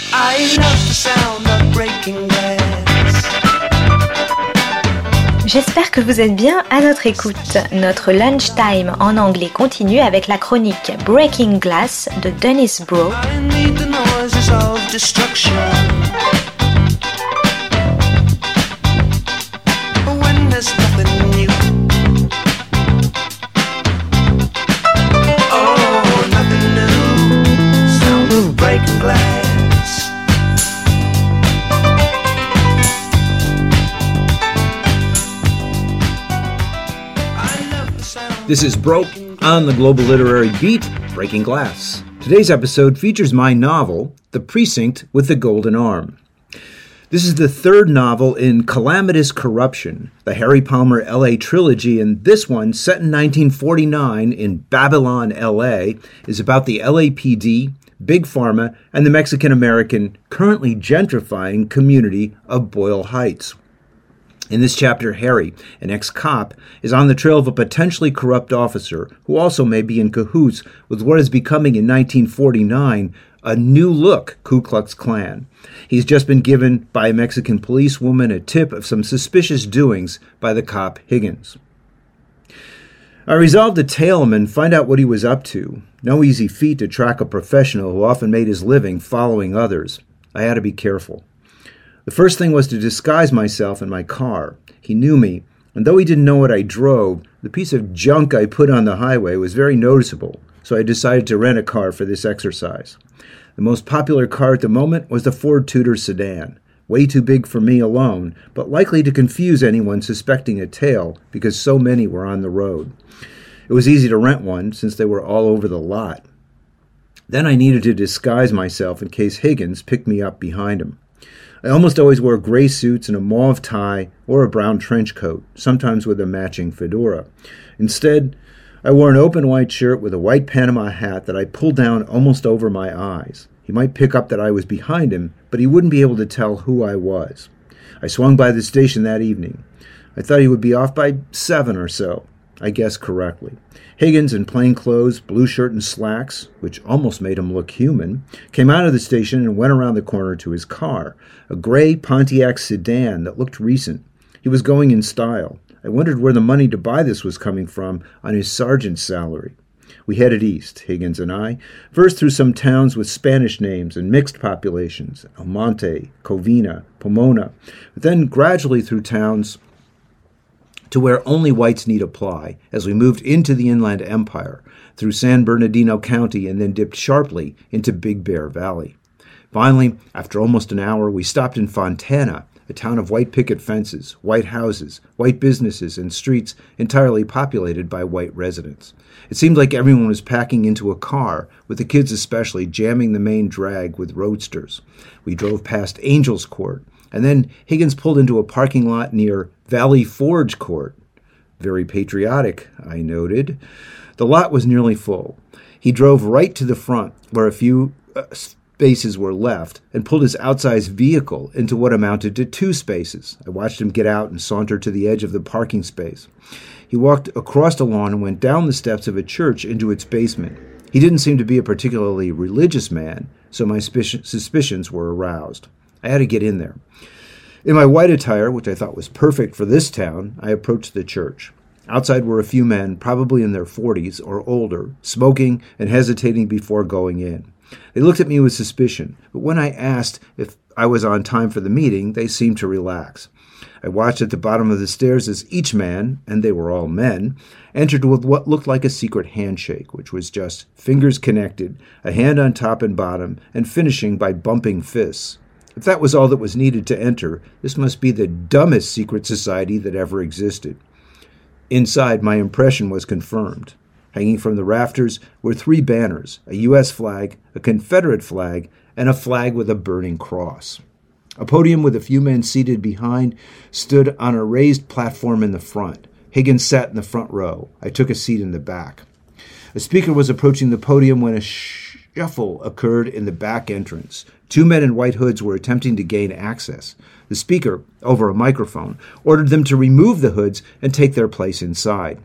I love the sound of breaking glass. J'espère que vous êtes bien à notre écoute. Notre lunchtime en anglais continue avec la chronique Breaking Glass de Dennis Bro. I need the noises of destruction. When there's nothing new. Oh, nothing new. Sound of breaking glass. This is Broke on the Global Literary Beat, Breaking Glass. Today's episode features my novel, The Precinct with the Golden Arm. This is the third novel in Calamitous Corruption, the Harry Palmer L.A. trilogy, and this one, set in 1949 in Babylon, L.A., is about the LAPD, Big Pharma, and the Mexican-American currently gentrifying community of Boyle Heights. In this chapter, Harry, an ex-cop, is on the trail of a potentially corrupt officer who also may be in cahoots with what is becoming in 1949 a new-look Ku Klux Klan. He's just been given by a Mexican policewoman a tip of some suspicious doings by the cop Higgins. I resolved to tail him and find out what he was up to. No easy feat to track a professional who often made his living following others. I had to be careful. The first thing was to disguise myself in my car. He knew me, and though he didn't know what I drove, the piece of junk I put on the highway was very noticeable, so I decided to rent a car for this exercise. The most popular car at the moment was the Ford Tudor sedan, way too big for me alone, but likely to confuse anyone suspecting a tail because so many were on the road. It was easy to rent one since they were all over the lot. Then I needed to disguise myself in case Higgins picked me up behind him. I almost always wore gray suits and a mauve tie or a brown trench coat, sometimes with a matching fedora. Instead, I wore an open white shirt with a white Panama hat that I pulled down almost over my eyes. He might pick up that I was behind him, but he wouldn't be able to tell who I was. I swung by the station that evening. I thought he would be off by 7 or so. I guessed correctly. Higgins, in plain clothes, blue shirt and slacks, which almost made him look human, came out of the station and went around the corner to his car, a gray Pontiac sedan that looked recent. He was going in style. I wondered where the money to buy this was coming from on his sergeant's salary. We headed east, Higgins and I, first through some towns with Spanish names and mixed populations, El Monte, Covina, Pomona, but then gradually through towns to where only whites need apply, as we moved into the Inland Empire, through San Bernardino County and then dipped sharply into Big Bear Valley. Finally, after almost an hour, we stopped in Fontana, a town of white picket fences, white houses, white businesses, and streets entirely populated by white residents. It seemed like everyone was packing into a car, with the kids especially jamming the main drag with roadsters. We drove past Angels Court, and then Higgins pulled into a parking lot near Valley Forge Court. Very patriotic, I noted. The lot was nearly full. He drove right to the front, where a few spaces were left, and pulled his outsized vehicle into what amounted to 2 spaces. I watched him get out and saunter to the edge of the parking space. He walked across the lawn and went down the steps of a church into its basement. He didn't seem to be a particularly religious man, so my suspicions were aroused. I had to get in there. In my white attire, which I thought was perfect for this town, I approached the church. Outside were a few men, probably in their 40s or older, smoking and hesitating before going in. They looked at me with suspicion, but when I asked if I was on time for the meeting, they seemed to relax. I watched at the bottom of the stairs as each man, and they were all men, entered with what looked like a secret handshake, which was just fingers connected, a hand on top and bottom, and finishing by bumping fists. If that was all that was needed to enter, this must be the dumbest secret society that ever existed. Inside, my impression was confirmed. Hanging from the rafters were 3 banners, a U.S. flag, a Confederate flag, and a flag with a burning cross. A podium with a few men seated behind stood on a raised platform in the front. Higgins sat in the front row. I took a seat in the back. A speaker was approaching the podium when a shuffle occurred in the back entrance. 2 men in white hoods were attempting to gain access. The speaker, over a microphone, ordered them to remove the hoods and take their place inside.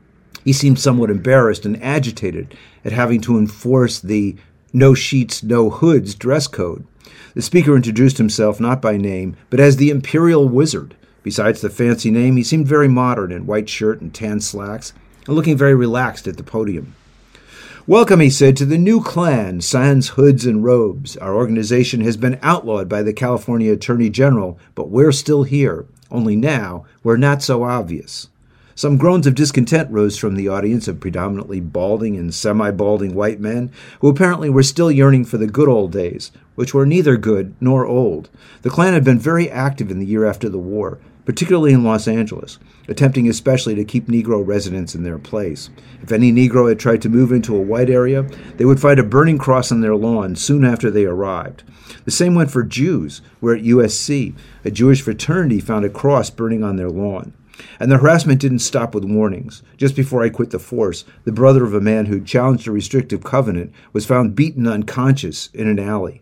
He seemed somewhat embarrassed and agitated at having to enforce the no sheets, no hoods dress code. The speaker introduced himself not by name, but as the Imperial Wizard. Besides the fancy name, he seemed very modern in white shirt and tan slacks, and looking very relaxed at the podium. "Welcome," he said, "to the new clan, Sans Hoods and Robes. Our organization has been outlawed by the California Attorney General, but we're still here. Only now, we're not so obvious." Some groans of discontent rose from the audience of predominantly balding and semi-balding white men, who apparently were still yearning for the good old days, which were neither good nor old. The Klan had been very active in the year after the war, particularly in Los Angeles, attempting especially to keep Negro residents in their place. If any Negro had tried to move into a white area, they would find a burning cross on their lawn soon after they arrived. The same went for Jews, where at USC, a Jewish fraternity found a cross burning on their lawn. And the harassment didn't stop with warnings. Just before I quit the force, the brother of a man who challenged a restrictive covenant was found beaten unconscious in an alley.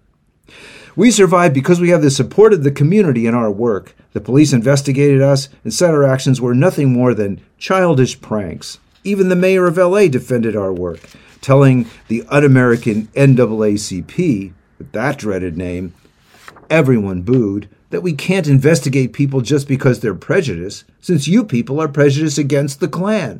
"We survived because we have the support of the community in our work. The police investigated us and said our actions were nothing more than childish pranks. Even the mayor of LA defended our work, telling the un-American NAACP, with that dreaded name, everyone booed, that we can't investigate people just because they're prejudiced, since you people are prejudiced against the Klan.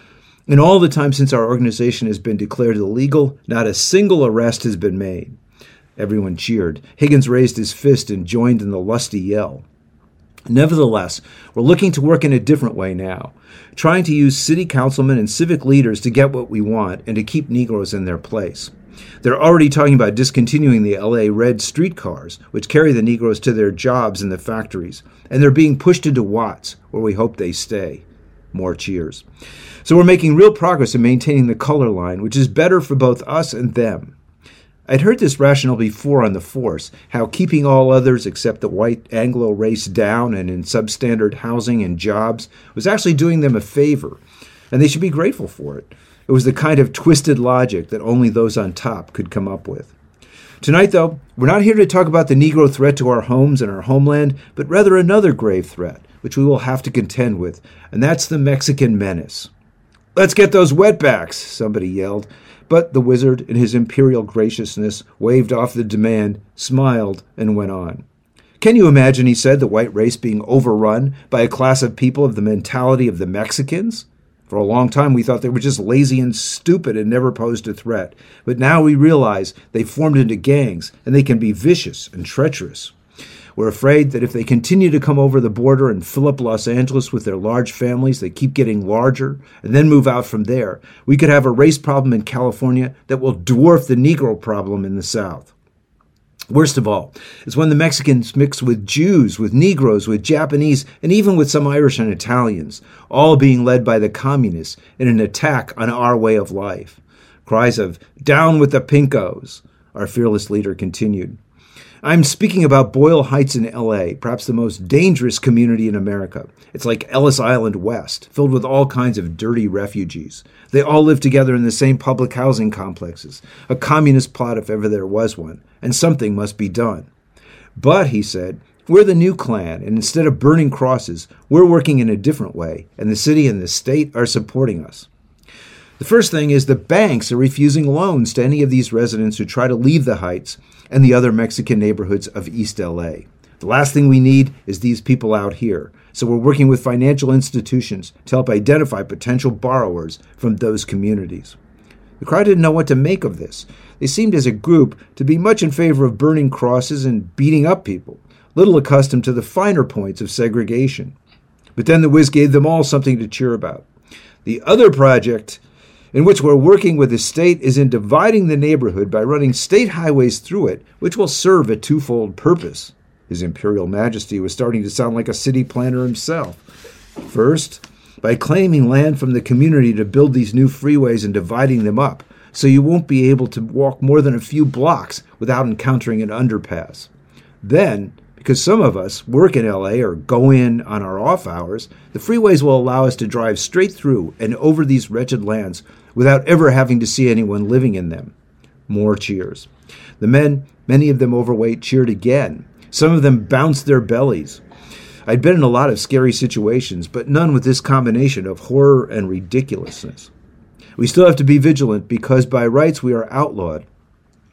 In all the time since our organization has been declared illegal, not a single arrest has been made." Everyone cheered. Higgins raised his fist and joined in the lusty yell. "Nevertheless, we're looking to work in a different way now, trying to use city councilmen and civic leaders to get what we want and to keep Negroes in their place. They're already talking about discontinuing the LA Red streetcars, which carry the Negroes to their jobs in the factories, and they're being pushed into Watts, where we hope they stay." More cheers. "So we're making real progress in maintaining the color line, which is better for both us and them." I'd heard this rationale before on the force, how keeping all others except the white Anglo race down and in substandard housing and jobs was actually doing them a favor, and they should be grateful for it. It was the kind of twisted logic that only those on top could come up with. Tonight, though, we're not here to talk about the Negro threat to our homes and our homeland, but rather another grave threat, which we will have to contend with, and that's the Mexican menace. "Let's get those wetbacks," somebody yelled. But the wizard, in his imperial graciousness, waved off the demand, smiled, and went on. "Can you imagine," he said, "the white race being overrun by a class of people of the mentality of the Mexicans? For a long time we thought they were just lazy and stupid and never posed a threat. But now we realize they formed into gangs, and they can be vicious and treacherous. We're afraid that if they continue to come over the border and fill up Los Angeles with their large families that keep getting larger and then move out from there, we could have a race problem in California that will dwarf the Negro problem in the South. Worst of all is when the Mexicans mix with Jews, with Negroes, with Japanese, and even with some Irish and Italians, all being led by the communists in an attack on our way of life." Cries of "Down with the Pinkos," our fearless leader continued. "I'm speaking about Boyle Heights in LA, perhaps the most dangerous community in America. It's like Ellis Island West, filled with all kinds of dirty refugees. They all live together in the same public housing complexes, a communist plot if ever there was one, and something must be done. But," he said, "we're the new Klan, and instead of burning crosses, we're working in a different way, and the city and the state are supporting us. The first thing is the banks are refusing loans to any of these residents who try to leave the Heights and the other Mexican neighborhoods of East LA. The last thing we need is these people out here, so we're working with financial institutions to help identify potential borrowers from those communities." The crowd didn't know what to make of this. They seemed as a group to be much in favor of burning crosses and beating up people, little accustomed to the finer points of segregation. But then the whiz gave them all something to cheer about. "The other project in which we're working with the state is in dividing the neighborhood by running state highways through it, which will serve a twofold purpose." His Imperial Majesty was starting to sound like a city planner himself. "First, by claiming land from the community to build these new freeways and dividing them up, so you won't be able to walk more than a few blocks without encountering an underpass. Then, because some of us work in LA or go in on our off hours, the freeways will allow us to drive straight through and over these wretched lands without ever having to see anyone living in them." More cheers. The men, many of them overweight, cheered again. Some of them bounced their bellies. I'd been in a lot of scary situations, but none with this combination of horror and ridiculousness. "We still have to be vigilant because by rights we are outlawed.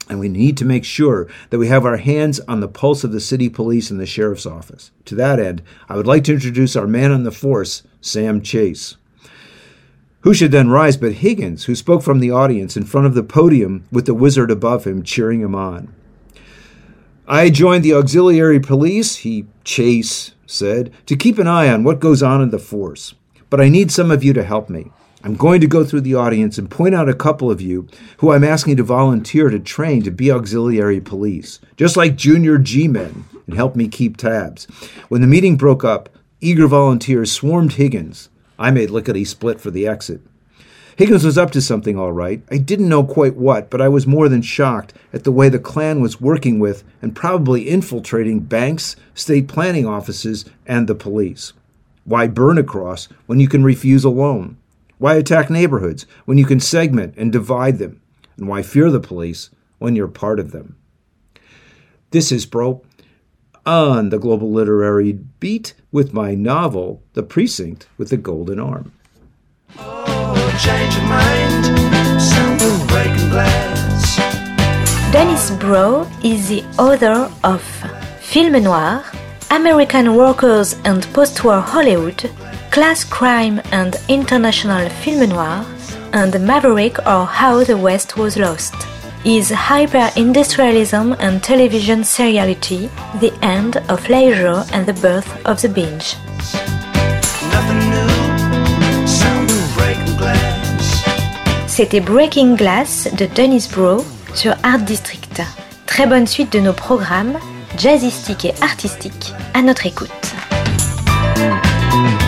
And we need to make sure that we have our hands on the pulse of the city police and the sheriff's office. To that end, I would like to introduce our man on the force, Sam Chase. Who should then rise but Higgins, who spoke from the audience in front of the podium with the wizard above him cheering him on. I joined the auxiliary police, Chase said, to keep an eye on what goes on in the force. But I need some of you to help me. I'm going to go through the audience and point out a couple of you who I'm asking to volunteer to train to be auxiliary police, just like junior G-men, and help me keep tabs. When the meeting broke up, eager volunteers swarmed Higgins. I made lickety-split for the exit. Higgins was up to something all right. I didn't know quite what, but I was more than shocked at the way the Klan was working with and probably infiltrating banks, state planning offices, and the police. Why burn a cross when you can refuse a loan? Why attack neighborhoods when you can segment and divide them? And why fear the police when you're part of them? This is Bro on the Global Literary Beat with my novel, The Precinct with the Golden Arm. Oh, change your mind. Sound of breaking glass. Dennis Brough is the author of Film Noir, American Workers and Post-War Hollywood, Class Crime and International Film Noir, and Maverick or How the West Was Lost. Is hyper-industrialism and television seriality, the end of leisure and the birth of the binge. Nothing new. Sound of breaking glass. C'était Breaking Glass de Dennis Brough sur Art District. Très bonne suite de nos programmes, jazzistiques et artistiques, à notre écoute.